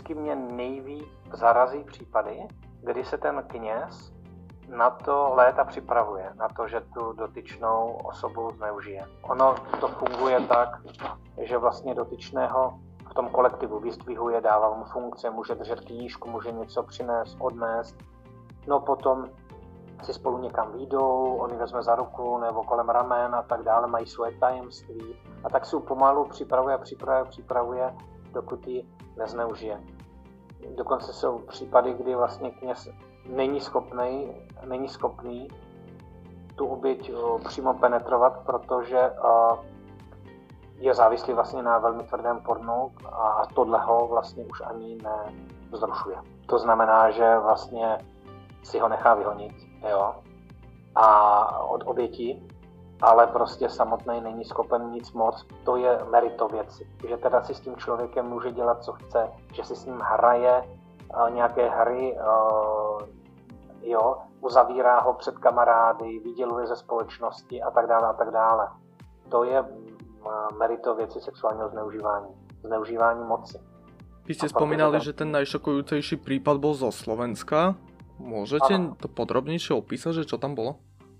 vždycky mě nejvíc zarazí případy, kdy se ten kněz na to léta připravuje, na to, že tu dotyčnou osobu zneužije. Ono to funguje tak, že vlastně dotyčného v tom kolektivu vyzdvihuje, dává mu funkce, může držet knížku, může něco přinést, odnést. No potom si spolu někam výjdou, on ji vezme za ruku nebo kolem ramen a tak dále, mají svoje tajemství. A tak si pomalu připravuje, dokud ji nezneužije. Dokonce jsou případy, kdy vlastně kněz není schopný tu oběť přímo penetrovat, protože je závislý vlastně na velmi tvrdém pornu a tohle ho vlastně už ani nevzrušuje. To znamená, že vlastně si ho nechá vyhonit, jo, a od oběti, ale prostě samotný není schopen nic moc. To je merito věci, že teda si s tím člověkem může dělat, co chce, že si s ním hraje nějaké hry, jo, uzavírá ho před kamarády, vyděluje ze společnosti a tak dále a tak dále. To je merito věci sexuálního zneužívání moci. Vy ste spomínali, že ten najšokujúcejší prípad bol zo Slovenska. Môžete to podrobnejšie opísať, že čo tam bolo?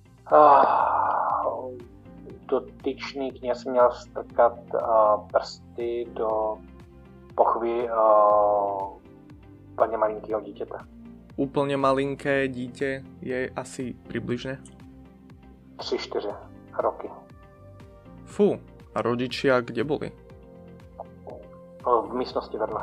Dotyčný kněz měl strkat prsty do pochvy úplně malinkého dítěte. Úplne malinké dítě je asi približne? 3-4 roky. Fú, a rodičia kde boli? V místnosti vedle.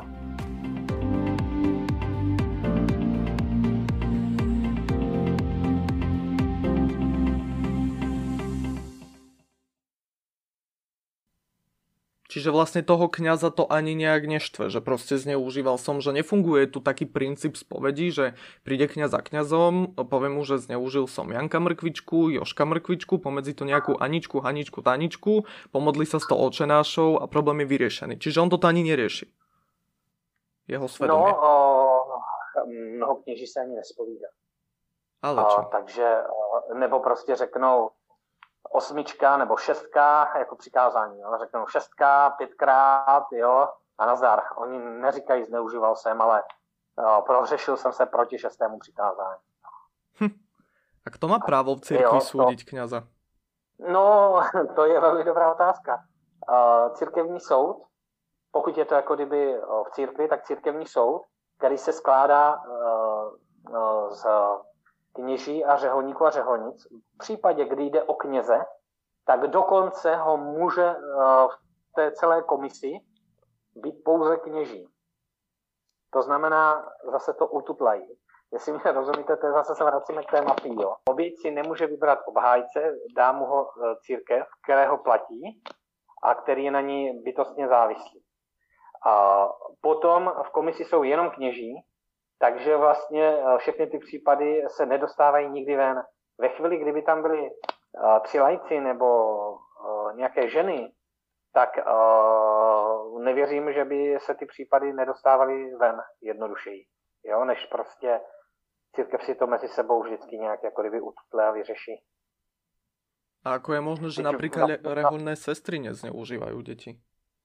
Čiže vlastne toho kňaza to ani nejak neštve, že proste zneužíval som, že nefunguje tu taký princíp spovedí, že príde kňaz za kňazom, povie mu, že zneužil som Janka Mrkvičku, Jožka Mrkvičku, pomedzi to nejakú Aničku, Haničku, Taničku, pomodli sa s to očenášou a problém je vyriešený. Čiže on toto ani nerieši. Jeho svedomie. No, mnoho kněží se ani nespovídá. Ale čo? Takže, nebo prostě řeknou 8 nebo 6 jako přikázání, jo? Řeknou 6, 5krát, jo, a nazdar. Oni neříkají zneužíval jsem, ale prohřešil jsem se proti 6. přikázání. A kto má právo v cirkvi súdiť kňaza? No, to je velmi dobrá otázka. Církevní soud, pokud je to jako kdyby v církvi, tak církevní soud, který se skládá z kněží a řeholníků a řeholnic. V případě, kdy jde o kněze, tak dokonce ho může v té celé komisi být pouze kněží. To znamená, zase to ututlají. Jestli mě rozumíte, to je zase se vracíme k té mafii. Jo. Oběť si nemůže vybrat obhájce, dá mu ho církev, kterého platí a který je na ní bytostně závislý. A potom v komisi jsou jenom kněží, takže vlastně všechny ty případy se nedostávají nikdy ven. Ve chvíli, kdyby tam byli 3 laici nebo nějaké ženy, tak nevěřím, že by se ty případy nedostávaly ven jednodušeji. Jo? Než prostě církev si to mezi sebou vždycky nějak jako kdyby ututle a vyřeší. A ako je možné, že napríklad reholné sestry nezneužívajú deti?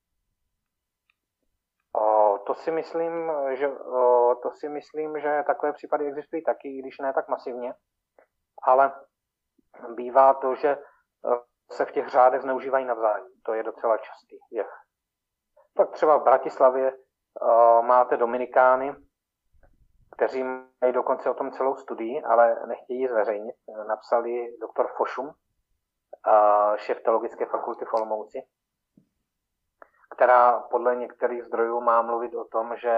To si myslím, že takové případy existují taky, i když ne tak masivně. Ale bývá to, že se v těch řádech zneužívají navzájem. To je docela častý jev. Tak třeba v Bratislavě máte dominikány, kteří mají dokonce o tom celou studii, ale nechtějí ji zveřejnit. Napsali doktor Fošum, šéf teologické fakulty v Olomouci, která podle některých zdrojů má mluvit o tom, že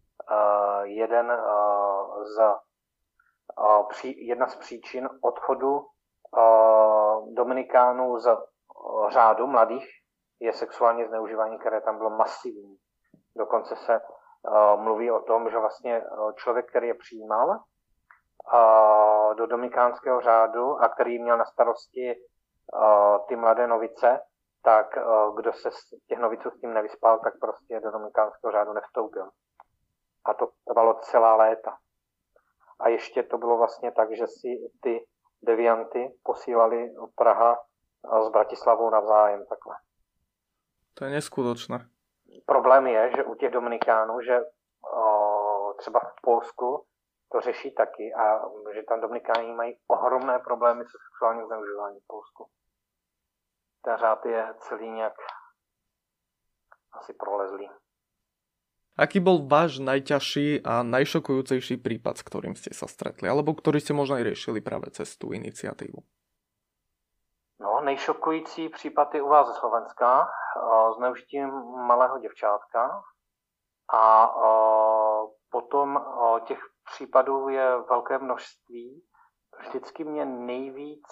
jedna z příčin odchodu dominikánů z řádu mladých je sexuální zneužívání, které tam bylo masivní. Dokonce se mluví o tom, že vlastně člověk, který je přijímal do dominikánského řádu a který měl na starosti ty mladé novice, tak kdo se z těch noviců s tím nevyspal, tak prostě do dominikánského řádu nevstoupil. A to trvalo celá léta. A ještě to bylo vlastně tak, že si ty devianty posílali Praha s Bratislavou navzájem takhle. To je neskutočné. Problém je, že u těch dominikánů, že třeba v Polsku to řeší taky a že tam Dominikáni mají ohromné problémy se sexuálním zneužíváním v Polsku. Ten řád je celý nějak asi prolezlý. Aký bol váš najťažší a najšokujúcejší prípad, s ktorým ste sa stretli? Alebo ktorý ste možno aj riešili práve cez tú iniciatívu? No, nejšokující případ je u vás ze Slovenska, zneužitím malého děvčátka. A potom těch případů je velké množství. Vždycky mě nejvíc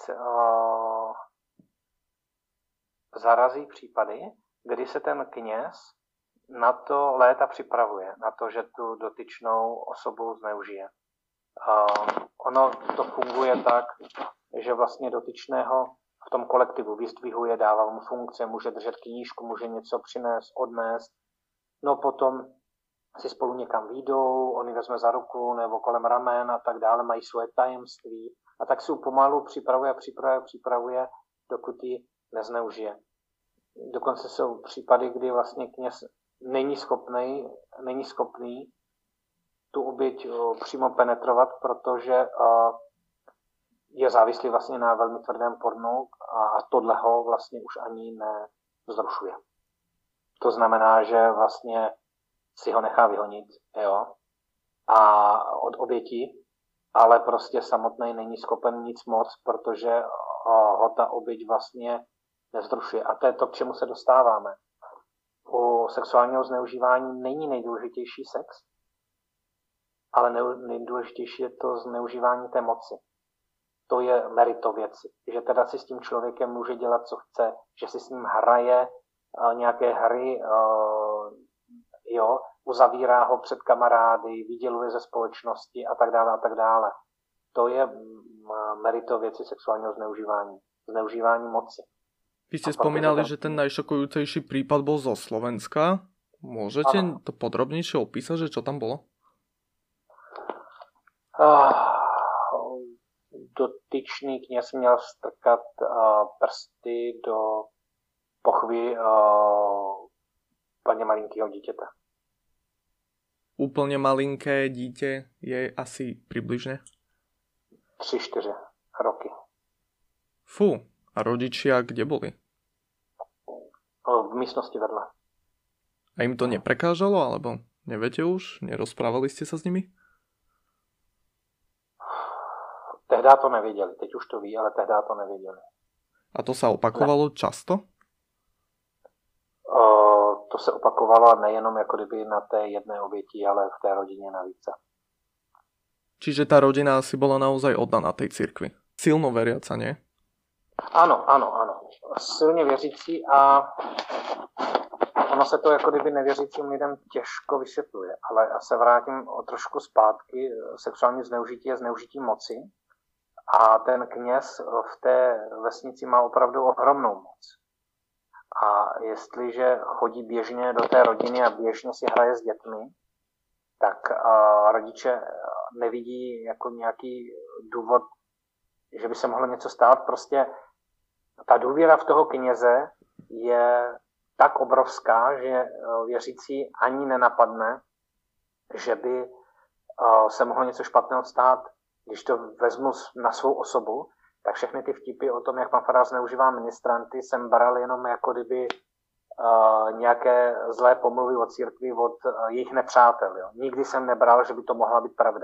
zarazí případy, kdy se ten kněz na to léta připravuje, na to, že tu dotyčnou osobu zneužije. Ono to funguje tak, že vlastně dotyčného v tom kolektivu vyzdvihuje, dává mu funkce, může držet knížku, může něco přinést, odnést. No potom si spolu někam výjdou, on ji vezme za ruku nebo kolem ramen a tak dále, mají svoje tajemství a tak si pomalu připravuje, dokud ji nezneužije. Dokonce jsou případy, kdy vlastně kněz není schopný tu oběť přímo penetrovat, protože je závislý vlastně na velmi tvrdém pornu a tohle ho vlastně už ani nevzrušuje. To znamená, že vlastně si ho nechá vyhonit, jo, a od oběti, ale prostě samotný není schopen nic moc, protože ho ta oběť vlastně nevzrušuje. A to je to, k čemu se dostáváme. U sexuálního zneužívání není nejdůležitější sex, ale nejdůležitější je to zneužívání té moci. To je merito věci. Že teda si s tím člověkem může dělat, co chce, že si s ním hraje nějaké hry, jo, uzavírá ho před kamarády, vyděluje ze společnosti a tak dále a tak dále. To je merito věci sexuálního zneužívání. Zneužívání moci. Vy ste spomínali, že ten najšokujúcejší prípad bol zo Slovenska. Môžete to podrobnejšie opísať, že čo tam bolo? Dotyčný kněz měl strkat prsty do pochvy plně malinkého dítěte. Úplne malinké dieťa je asi približne? 3-4 roky. Fú, a rodičia kde boli? V místnosti vedle. A im to neprekážalo, alebo neviete už? Nerozprávali ste sa s nimi? Tehdy to nevěděli, teď už to ví, ale tehdy to nevěděli. A to sa opakovalo často? To se opakovalo nejenom jako kdyby na té jedné oběti, ale v té rodině navíc. Čiže tá rodina asi bola naozaj oddaná tej cirkvi. Silno veriaca, nie? Ano. Silně věřící a ono se to jako kdyby nevěřícím lidem těžko vysvětluje. Ale já se vrátím o trošku zpátky. Sexuální zneužití je zneužití moci. A ten kněz v té vesnici má opravdu ohromnou moc. A jestliže chodí běžně do té rodiny a běžně si hraje s dětmi, tak rodiče nevidí jako nějaký důvod, že by se mohlo něco stát. Prostě ta důvěra v toho kněze je tak obrovská, že věřící ani nenapadne, že by se mohlo něco špatného stát. Když to vezmu na svou osobu, tak všechny ty vtipy o tom, jak pan farář zneužívá ministranty, jsem bral jenom jako kdyby nějaké zlé pomluvy od církví, od jejich nepřátel. Jo. Nikdy jsem nebral, že by to mohla být pravda.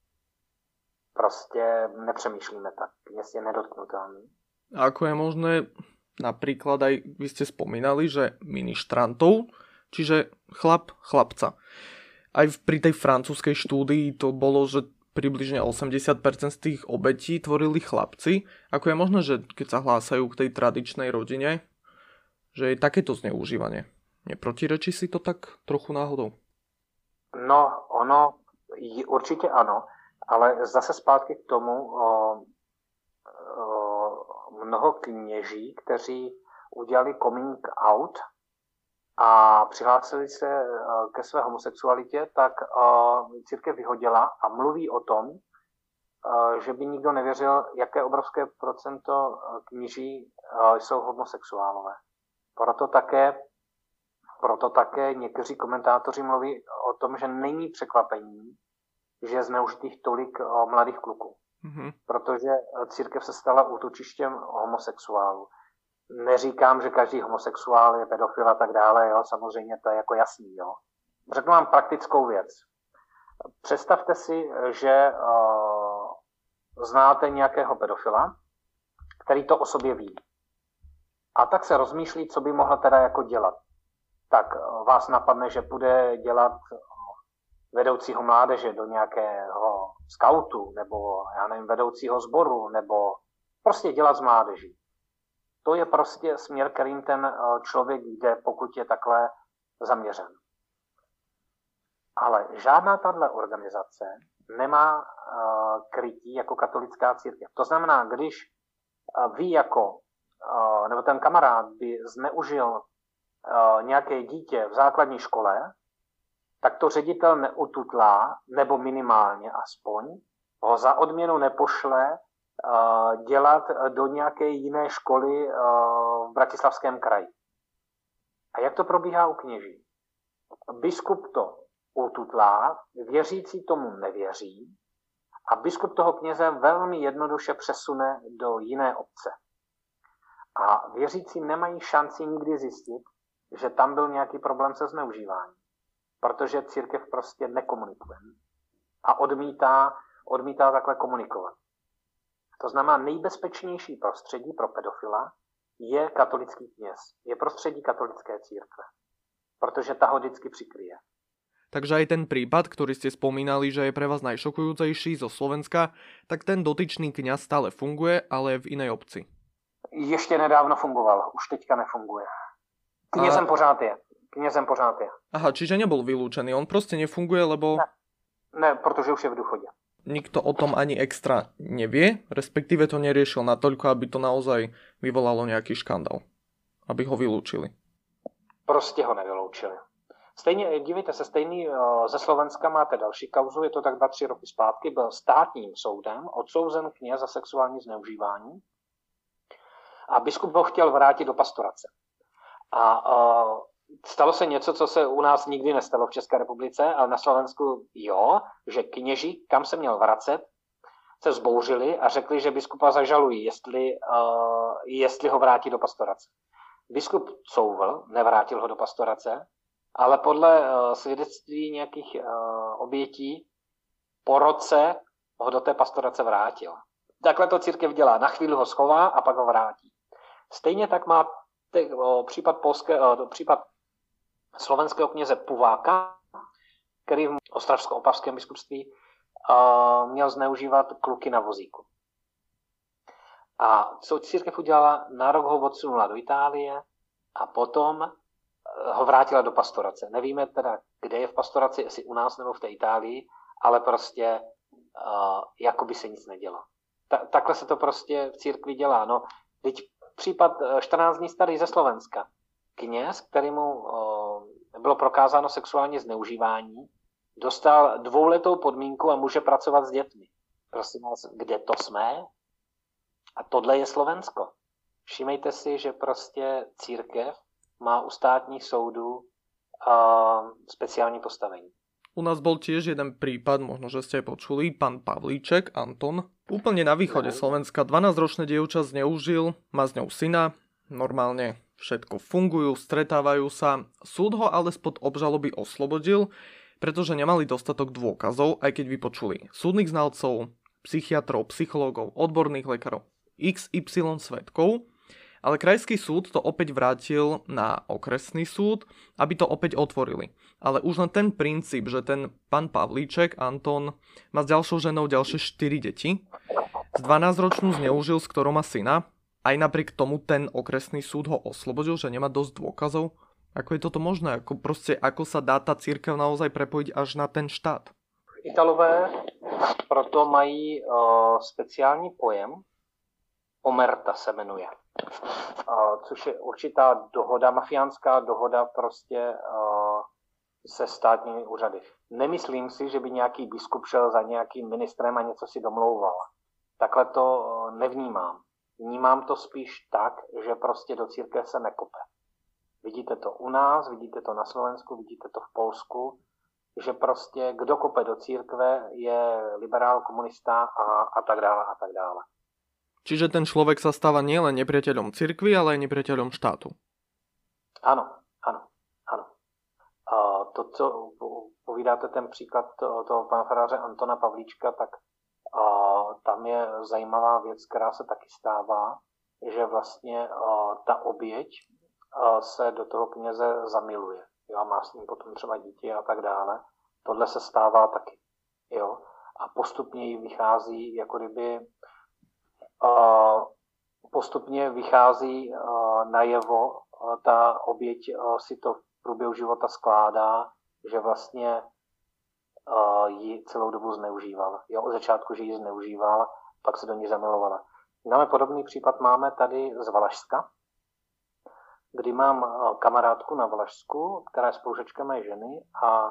Prostě nepřemýšlíme tak. Kněz je nedotknutelný. A ako je možné, napríklad aj vy ste spomínali, že ministrantov, čiže chlapca. Aj pri tej francúzskej štúdii to bolo, že približne 80% z tých obetí tvorili chlapci. Ako je možné, že keď sa hlásajú k tej tradičnej rodine, že je takéto zneužívanie? Neprotirečí si to tak trochu náhodou? No, ono určitě ano, ale zase zpátky k tomu mnoho kněží, kteří udělali coming out a přihlásili se ke své homosexualitě, tak církev vyhodila a mluví o tom, že by nikdo nevěřil, jaké obrovské procento kněží jsou homosexuálové. Proto také proto také někteří komentátoři mluví o tom, že není překvapení, že je zneužitých tolik mladých kluků. Protože církev se stala útočištěm homosexuálů. Neříkám, že každý homosexuál je pedofil a tak dále, jo, samozřejmě to je jako jasný. Jo. Řeknu vám praktickou věc. Představte si, že znáte nějakého pedofila, který to o sobě ví. A tak se rozmýšlí, co by mohl teda jako dělat. Tak vás napadne, že bude dělat vedoucího mládeže do nějakého skautu, nebo já nevím, vedoucího sboru, nebo prostě dělat z mládeží. To je prostě směr, kterým ten člověk jde, pokud je takhle zaměřen. Ale žádná tahle organizace nemá krytí jako katolická církev. To znamená, když vy nebo ten kamarád by zneužil nějaké dítě v základní škole, tak to ředitel neututlá, nebo minimálně aspoň, ho za odměnu nepošle dělat do nějaké jiné školy v Bratislavském kraji. A jak to probíhá u kněží? Biskup to ututlá, věřící tomu nevěří a biskup toho kněze velmi jednoduše přesune do jiné obce. A věřící nemají šanci nikdy zjistit, že tam byl nějaký problém se zneužíváním. Protože církev prostě nekomunikuje. A odmítá takhle komunikovat. To znamená, nejbezpečnější prostředí pro pedofila je katolický kněz. Je prostředí katolické církve. Protože ta ho vždycky přikryje. Takže aj ten prípad, ktorý ste spomínali, že je pre vás najšokujúcejší zo Slovenska, tak ten dotyčný kňaz stále funguje, ale v inej obci. Ještě nedávno fungoval, už teďka nefunguje. Knězem pořád je. Aha, čiže nebol vylúčený, on proste nefunguje, lebo... Ne, protože už je v důchodě. Nikto o tom ani extra nevie, respektíve to neriešil natoľko, aby to naozaj vyvolalo nejaký škandál. Aby ho vylúčili. Prostě ho nevyloučili. Stejně, dívejte se, ze Slovenska máte další kauzu, je to tak 2-3 roky zpátky, byl státním soudem odsouzen kněz za sexuální zneužívání a biskup ho chtěl vrátit do pastorace. A stalo se něco, co se u nás nikdy nestalo v České republice, ale na Slovensku jo, že kněži, kam se měl vracet, se vzbouřili a řekli, že biskupa zažalují, jestli ho vrátí do pastorace. Biskup couvl, nevrátil ho do pastorace, ale podle svědectví nějakých obětí po roce ho do té pastorace vrátil. Takhle to církev dělá. Na chvíli ho schová a pak ho vrátí. Stejně tak má případ slovenského kněze Puváka, který v ostravsko-opavském biskupství měl zneužívat kluky na vozíku. A co církev udělala, na rok ho odsunula do Itálie a potom ho vrátila do pastorace. Nevíme teda, kde je v pastoraci, jestli u nás nebo v té Itálii, ale prostě jako by se nic nedělo. Takhle se to prostě v církvi dělá. No, teď případ 14 dní starý ze Slovenska. Kněz, kterému bylo prokázáno sexuální zneužívání, dostal 2letou podmínku a může pracovat s dětmi. Prosím vás, kde to jsme? A tohle je Slovensko. Všimejte si, že prostě církev má u státních soudů speciální postavení. U nás bol tiež jeden prípad, možno, že ste počuli, pán Pavlíček, Anton. Úplne na východe Slovenska 12-ročné dievča zneužil, má s ňou syna, normálne všetko fungujú, stretávajú sa. Súd ho ale spod obžaloby oslobodil, pretože nemali dostatok dôkazov, aj keď vypočuli súdnych znalcov, psychiatrov, psychológov, odborných lekárov, XY svedkov, ale krajský súd to opäť vrátil na okresný súd, aby to opäť otvorili. Ale už len ten princíp, že ten pán Pavlíček, Anton, má s ďalšou ženou ďalšie 4 deti, z 12-ročnú zneužil, s ktorou má syna, aj napriek tomu ten okresný súd ho oslobodil, že nemá dosť dôkazov. Ako je toto možné? Ako sa dá tá cirkev naozaj prepojiť až na ten štát? Italové proto mají speciální pojem, omerta se jmenuje, což je určitá dohoda, mafiánská dohoda prostě se státními úřady. Nemyslím si, že by nějaký biskup šel za nějakým ministrem a něco si domlouval. Takhle to nevnímám. Vnímám to spíš tak, že prostě do církve se nekope. Vidíte to u nás, vidíte to na Slovensku, vidíte to v Polsku, že prostě kdo kope do církve je liberál, komunista a tak dále a tak dále. Čiže ten človek sa stáva nielen nepriateľom cirkvi, ale aj nepriateľom štátu. Áno. To, co povídáte ten příklad toho pana faráře Antona Pavlíčka, tak tam je zajímavá věc, která se taky stává, že vlastně ta oběť se do toho kněze zamiluje. Jo, má s ním potom třeba dítě a tak dále. Tohle se stává taky. Jo. A postupně jí vychází, jako kdyby postupně vychází najevo, ta oběť si to v průběhu života skládá, že vlastně ji celou dobu zneužíval. Jo, od začátku, že ji zneužíval, pak se do ní zamilovala. Máme podobný případ, máme tady z Valašska, kdy mám kamarádku na Valašsku, která je spolužečka mé ženy a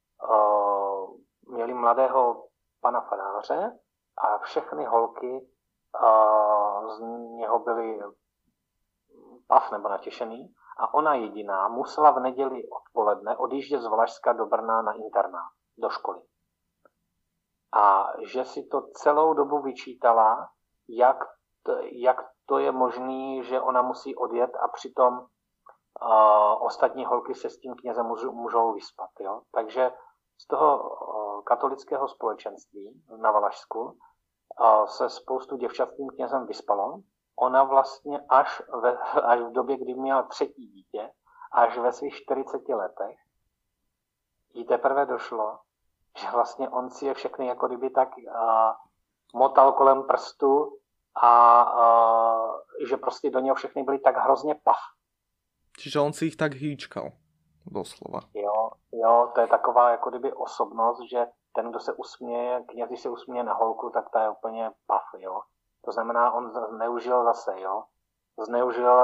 měli mladého pana faráře a všechny holky z něho byly pav nebo natěšený a ona jediná musela v neděli odpoledne odjíždět z Valašska do Brna na internát, do školy. A že si to celou dobu vyčítala, jak to je možné, že ona musí odjet a přitom ostatní holky se s tím knězem můžou vyspat. Jo? Takže z toho katolického společenství na Valašsku se spoustu děvčat s tím knězem vyspalo. Ona vlastně až v době, kdy měla 3. dítě, až ve svých 40 letech, jí teprve došlo, že vlastně on si je všechny jako kdyby tak motal kolem prstu a že prostě do něho všechny byly tak hrozně pav. Čiže on si ich tak hýčkal, doslova. Jo, to je taková jako kdyby osobnost, že ten, kdo se usměje, kněz, když se usměje na holku, tak ta je úplně pav, jo. To znamená, on zneužil zase, jo. Zneužil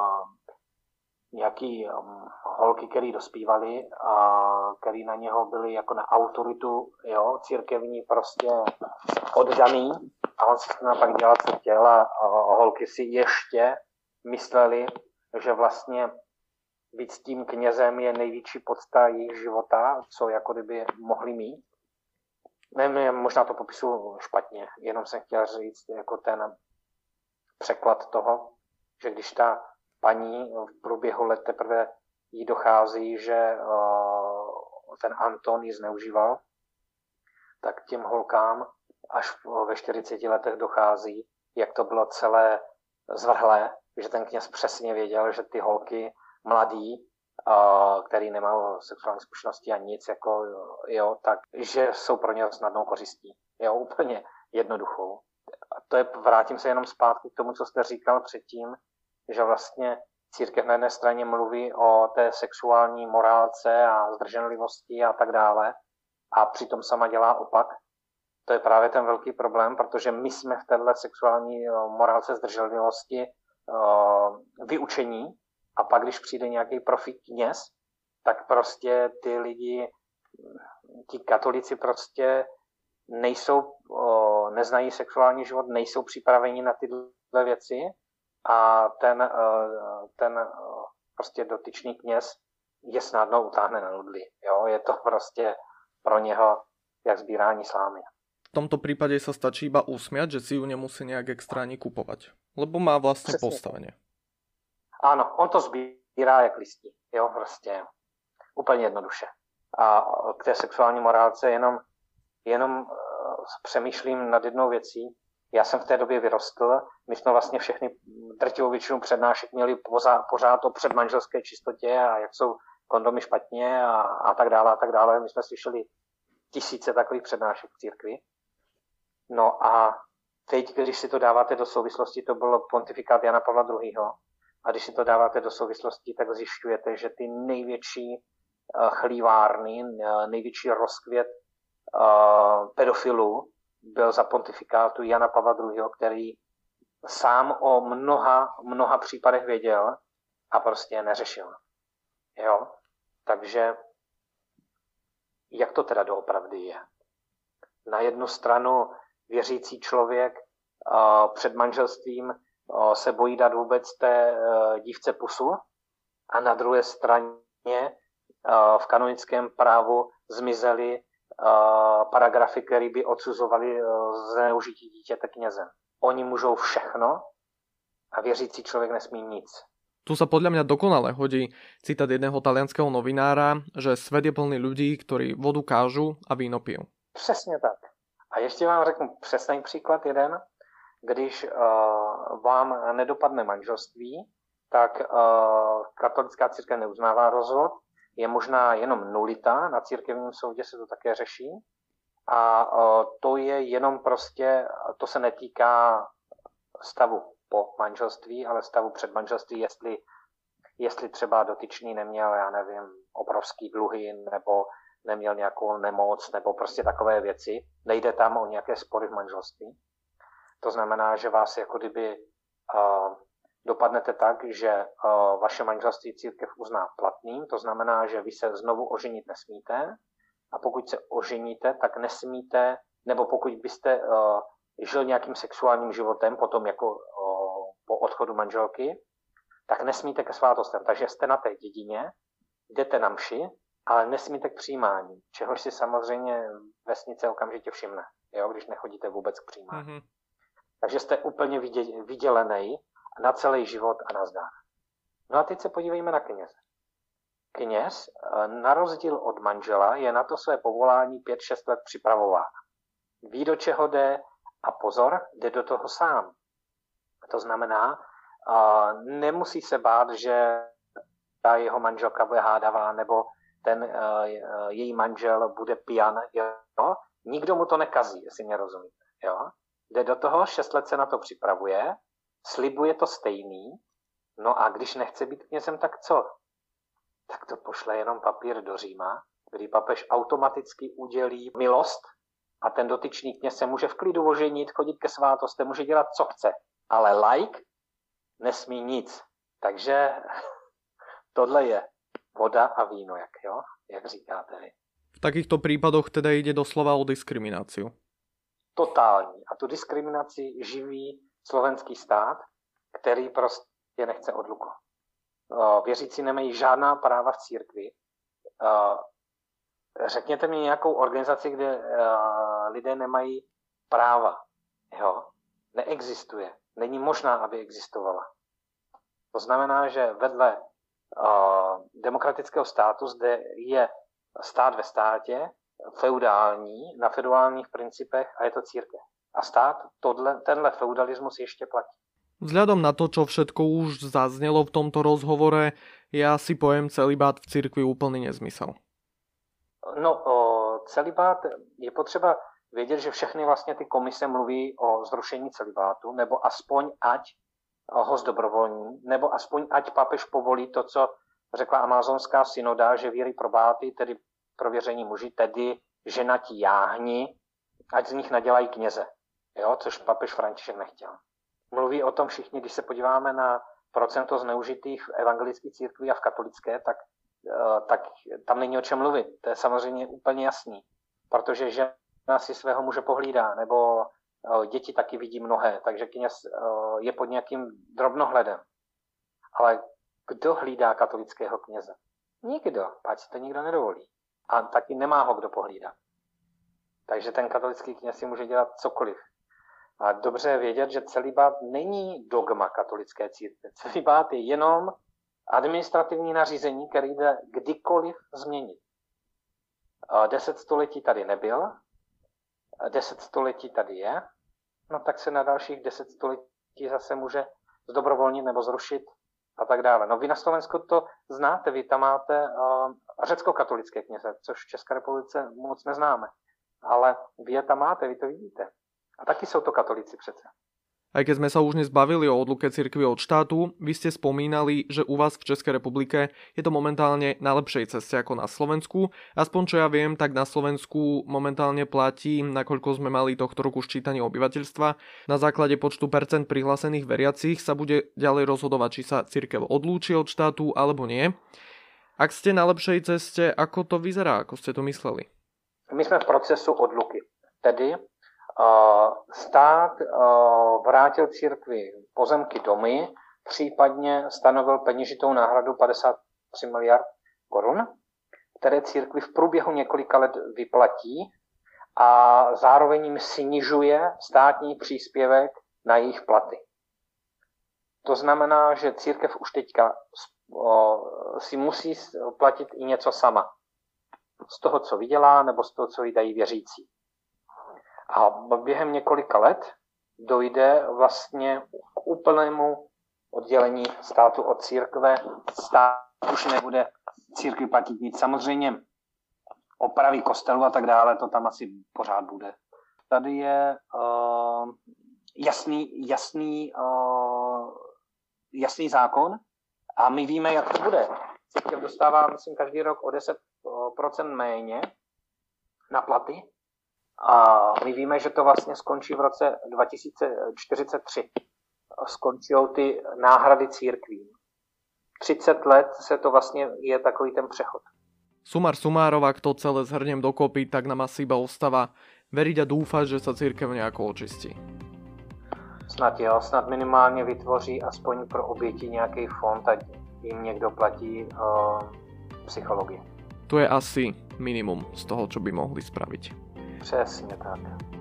nějaký holky, který dospívali a který na něho byli jako na autoritu, jo, církevní prostě oddaný a on si pak dělal, co chtěl a holky si ještě mysleli, že vlastně být s tím knězem je největší podsta jejich života, co jako kdyby mohli mít. Nevím, možná to popisuju špatně, jenom jsem chtěl říct jako ten překlad toho, že když ta paní v průběhu let teprve jí dochází, že ten Anton ji zneužíval, tak těm holkám až ve 40 letech dochází, jak to bylo celé zvrhlé, že ten kněz přesně věděl, že ty holky mladý, který nemal sexuální zkušenosti a nic, jako, jo, tak, že jsou pro ně snadnou kořistí. Jo, úplně jednoduchou. A to je, vrátím se jenom zpátky k tomu, co jste říkal předtím, že vlastně církev na jedné straně mluví o té sexuální morálce a zdrženlivosti a tak dále a přitom sama dělá opak. To je právě ten velký problém, protože my jsme v této sexuální morálce zdrženlivosti vyučení a pak, když přijde nějaký profi kněz, tak prostě ty lidi, ti katolíci prostě nejsou, neznají sexuální život, nejsou připraveni na tyhle věci a ten prostě dotyčný kněz je snadno utáhne na nudli. Jo? Je to prostě pro něho jak sbírání slámy. V tomto prípade sa stačí iba usmiať, že si ju nemusí nejak extra ani kupovať. Lebo má vlastne Přesně. postavenie. Ano, on to sbírá jak listí. Jo, prostě úplně jednoduše. A k té sexuální morálce jenom přemýšlím nad jednou věcí. Já jsem v té době vyrostl, my jsme vlastně všechny drtivou většinu přednášek měli pořád o předmanželské čistotě a jak jsou kondomy špatně a tak dále a tak dále. My jsme slyšeli tisíce takových přednášek v církvi. No a teď, když si to dáváte do souvislosti, to byl pontifikát Jana Pavla II. A když si to dáváte do souvislosti, tak zjišťujete, že ty největší chlívárny, největší rozkvět pedofilů byl za pontifikátu Jana Pavla II., který sám o mnoha případech věděl a prostě je neřešil. Jo? Takže jak to teda doopravdy je? Na jednu stranu věřící člověk před manželstvím se bojí dát vůbec té dívce pusu a na druhé straně v kanonickém právu zmizely paragrafy, které by odsuzovaly zneužití dítěte knězem. Oni můžou všechno a věřící člověk nesmí nic. Tu sa podľa mňa dokonale hodí citát jedného talianskeho novinára, že svet je plný ľudí, ktorí vodu kážu a víno pijú. Přesně tak. A ještě vám řeknu přesný příklad jeden. Když vám nedopadne manželství, tak katolická církev neuznává rozvod. Je možná jenom nulita, na církevním soudě se to také řeší. A to je jenom prostě, to se netýká stavu po manželství, ale stavu před manželství, jestli třeba dotyčný neměl, já nevím, obrovský dluhy, nebo neměl nějakou nemoc, nebo prostě takové věci. Nejde tam o nějaké spory v manželství. To znamená, že vás jako kdyby dopadnete tak, že vaše manželství církev uzná platným, to znamená, že vy se znovu oženit nesmíte a pokud se oženíte, tak nesmíte, nebo pokud byste žil nějakým sexuálním životem potom jako po odchodu manželky, tak nesmíte ke svátostem. Takže jste na té dědině, jdete na mši, ale nesmíte k přijímání, čehož si samozřejmě vesnice okamžitě všimne, jo, když nechodíte vůbec k přijímání. Mm-hmm. Takže jste úplně vydělený na celý život a nazdar. No a teď se podívejme na kněze. Kněz, na rozdíl od manžela, je na to své povolání 5-6 let připravován. Ví, do čeho jde a pozor, jde do toho sám. To znamená, nemusí se bát, že ta jeho manželka bude hádavá, nebo ten její manžel bude pijan. Jo? Nikdo mu to nekazí, jestli mě rozumíte. Jo? Jde do toho, 6 let se na to připravuje, slibuje to stejný, no a když nechce být knězem, tak co? Tak to pošle jenom papír do Říma, kdy papež automaticky udělí milost a ten dotyčný kněz se může v klidu oženit, chodit ke svátostem, může dělat, co chce. Ale laik nesmí nic. Takže tohle je voda a víno, jak říkáte vy. V takýchto prípadoch teda ide doslova o diskrimináciu. Totální. A tu diskriminaci živí slovenský stát, který prostě nechce odluku. Věřící nemají žádná práva v církvi. Řekněte mi nějakou organizaci, kde lidé nemají práva. Jo? Neexistuje. Není možná, aby existovala. To znamená, že vedle demokratického státu zde je stát ve státě, feudální, na feudálních principech a je to církev. A stát tenhle feudalismus ještě platí. Vzhľadom na to, čo všetko už zaznelo v tomto rozhovore, ja si poviem celibát v cirkvi úplný nezmysel. No, celibát je potřeba vědět, že všechny vlastně ty komise mluví o zrušení celibátu, nebo aspoň ať ho zdobrovolní, nebo aspoň ať papež povolí to, co řekla amazonská synoda, že víry probáty, tedy prověření muži, tedy ženatí jáhni, ať z nich nadělají kněze, jo, což papež František nechtěl. Mluví o tom všichni, když se podíváme na procento zneužitých v evangelické církvi a v katolické, tak tam není o čem mluvit. To je samozřejmě úplně jasný, protože žena si svého muže pohlídá, nebo děti taky vidí mnohé, takže kněz je pod nějakým drobnohledem. Ale kdo hlídá katolického kněze? Nikdo, ať si to nikdo nedovolí. A taky nemá ho kdo pohlídat. Takže ten katolický kněz si může dělat cokoliv. A dobře je vědět, že celibát není dogma katolické církve. Celibát je jenom administrativní nařízení, který jde kdykoliv změnit. 10 století tady nebyl, 10 století tady je, no tak se na dalších 10 století zase může zdobrovolnit nebo zrušit a tak dále. No vy na Slovensku to znáte, vy tam máte řecko-katolické kněze, což v České republice moc neznáme. Ale vy je tam máte, vy to vidíte. A taky jsou to katolíci přece. Aj keď sme sa už dnes bavili o odluke cirkvi od štátu, vy ste spomínali, že u vás v Českej republike je to momentálne na lepšej ceste ako na Slovensku. Aspoň čo ja viem, tak na Slovensku momentálne platí, nakoľko sme mali tohto roku ščítanie obyvateľstva. Na základe počtu percent prihlásených veriacich sa bude ďalej rozhodovať, či sa cirkev odlúči od štátu alebo nie. Ak ste na lepšej ceste, ako to vyzerá, ako ste to mysleli? My jsme v procesu odluky. Tedy stát vrátil církvi pozemky, domy, případně stanovil peněžitou náhradu 53 miliard korun, které církvi v průběhu několika let vyplatí a zároveň jim snižuje státní příspěvek na jejich platy. To znamená, že církev už teďka si musí platit i něco sama. Z toho, co vydělá, nebo z toho, co jí dají věřící. A během několika let dojde vlastně k úplnému oddělení státu od církve. Stát už nebude církvi platit nic. Samozřejmě opravy kostelů a tak dále, to tam asi pořád bude. Tady je jasný zákon a my víme, jak to bude. Církev dostává, myslím, každý rok o 10% méně na platy a my víme, že to vlastně skončí v roce 2043. Skončí ty náhrady církvím. 30 let se to vlastně je takový ten přechod. Sumar sumárov, ak to celé zhrnem dokopy, tak nám asi iba ostáva veriť a dúfať, že sa cirkev nejako očistí. Snad jo, snad minimálně vytvoří aspoň pro oběti nějaký fond, ať jim někdo platí psychologii. To je asi minimum z toho, čo by mohli spraviť. Přesně tak.